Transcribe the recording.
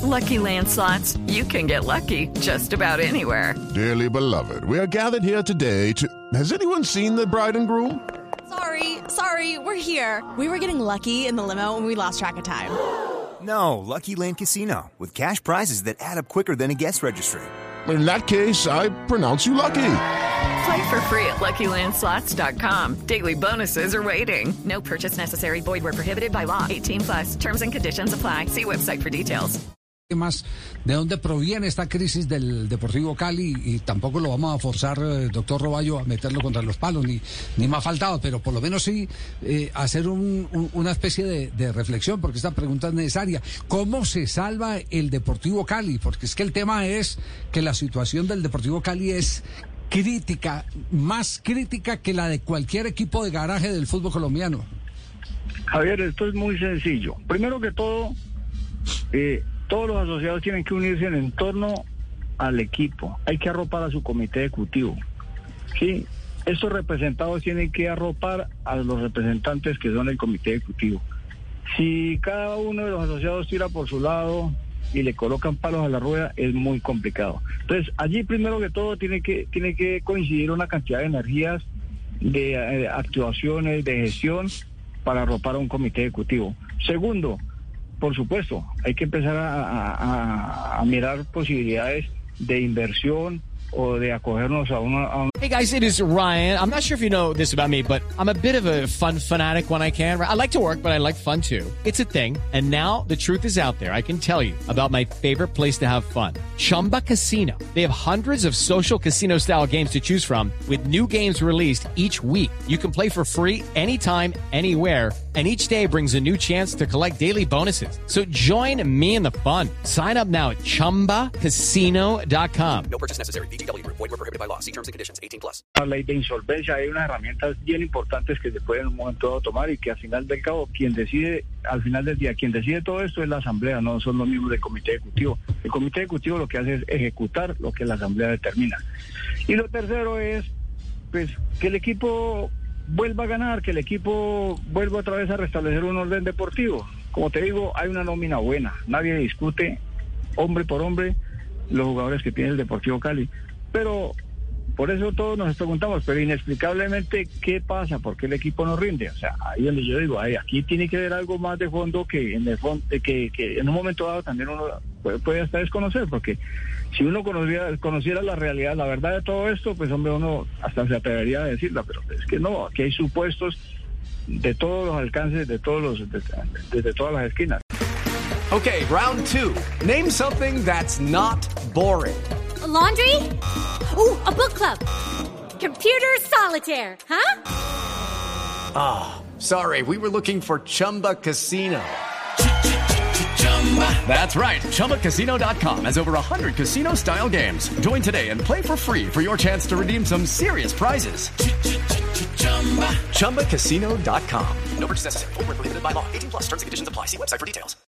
Lucky Land Slots, you can get lucky just about anywhere. Dearly beloved, we are gathered here today to... Has anyone seen the bride and groom? Sorry, we're here. We were getting lucky in the limo and we lost track of time. No, Lucky Land Casino, with cash prizes that add up quicker than a guest registry. In that case, I pronounce you lucky. Play for free at LuckyLandSlots.com. Daily bonuses are waiting. No purchase necessary. Void where prohibited by law. 18+. Terms and conditions apply. See website for details. Más de dónde proviene esta crisis del Deportivo Cali, y tampoco lo vamos a forzar, doctor Roballo, a meterlo contra los palos, ni más faltado, pero por lo menos sí hacer una especie de reflexión, porque esta pregunta es necesaria. ¿Cómo se salva el Deportivo Cali? Porque es que el tema es que la situación del Deportivo Cali es crítica, más crítica que la de cualquier equipo de garaje del fútbol colombiano. Javier, esto es muy sencillo. Primero que todo, todos los asociados tienen que unirse en torno al equipo. Hay que arropar a su comité ejecutivo. ¿Sí? Estos representados tienen que arropar a los representantes que son el comité ejecutivo. Si cada uno de los asociados tira por su lado y le colocan palos a la rueda, es muy complicado. Entonces, allí primero que todo tiene que coincidir una cantidad de energías, de actuaciones, de gestión para arropar a un comité ejecutivo. Segundo, por supuesto, hay que empezar a mirar posibilidades de inversión o de acogernos a una... Hey guys, it is Ryan. I'm not sure if you know this about me, but I'm a bit of a fun fanatic when I can. I like to work, but I like fun too. It's a thing. And now the truth is out there. I can tell you about my favorite place to have fun. Chumba Casino. They have hundreds of social casino style games to choose from with new games released each week. You can play for free anytime, anywhere. And each day brings a new chance to collect daily bonuses. So join me in the fun. Sign up now at ChumbaCasino.com. No purchase necessary. VGW Group. Void where prohibited by law. See terms and conditions. 18+. La ley de insolvencia, hay unas herramientas bien importantes que se pueden en un momento dado tomar y que al final del cabo, al final del día, quien decide todo esto es la asamblea, no son los miembros del comité ejecutivo. El comité ejecutivo lo que hace es ejecutar lo que la asamblea determina. Y lo tercero es, pues, que el equipo vuelva a ganar, que el equipo vuelva otra vez a restablecer un orden deportivo. Como te digo, hay una nómina buena, nadie discute hombre por hombre los jugadores que tiene el Deportivo Cali, pero por eso todos nos preguntamos, pero inexplicablemente, ¿qué pasa? ¿Por qué el equipo no rinde? O sea, ahí donde yo digo, aquí tiene que haber algo más de fondo que en el fondo, que en un momento dado también uno puede hasta desconocer, porque si uno conociera la realidad, la verdad de todo esto, pues hombre, uno hasta se atrevería a decirla, pero es que no, aquí hay supuestos de todos los alcances, desde todas las esquinas. Okay, round two. Name something that's not boring. A laundry? Ooh, a book club. Computer solitaire, huh? Ah, sorry, we were looking for Chumba Casino. That's right, ChumbaCasino.com has over 100 casino-style games. Join today and play for free for your chance to redeem some serious prizes. ChumbaCasino.com. No purchase necessary. Void where prohibited by law. 18+. Terms and conditions apply. See website for details.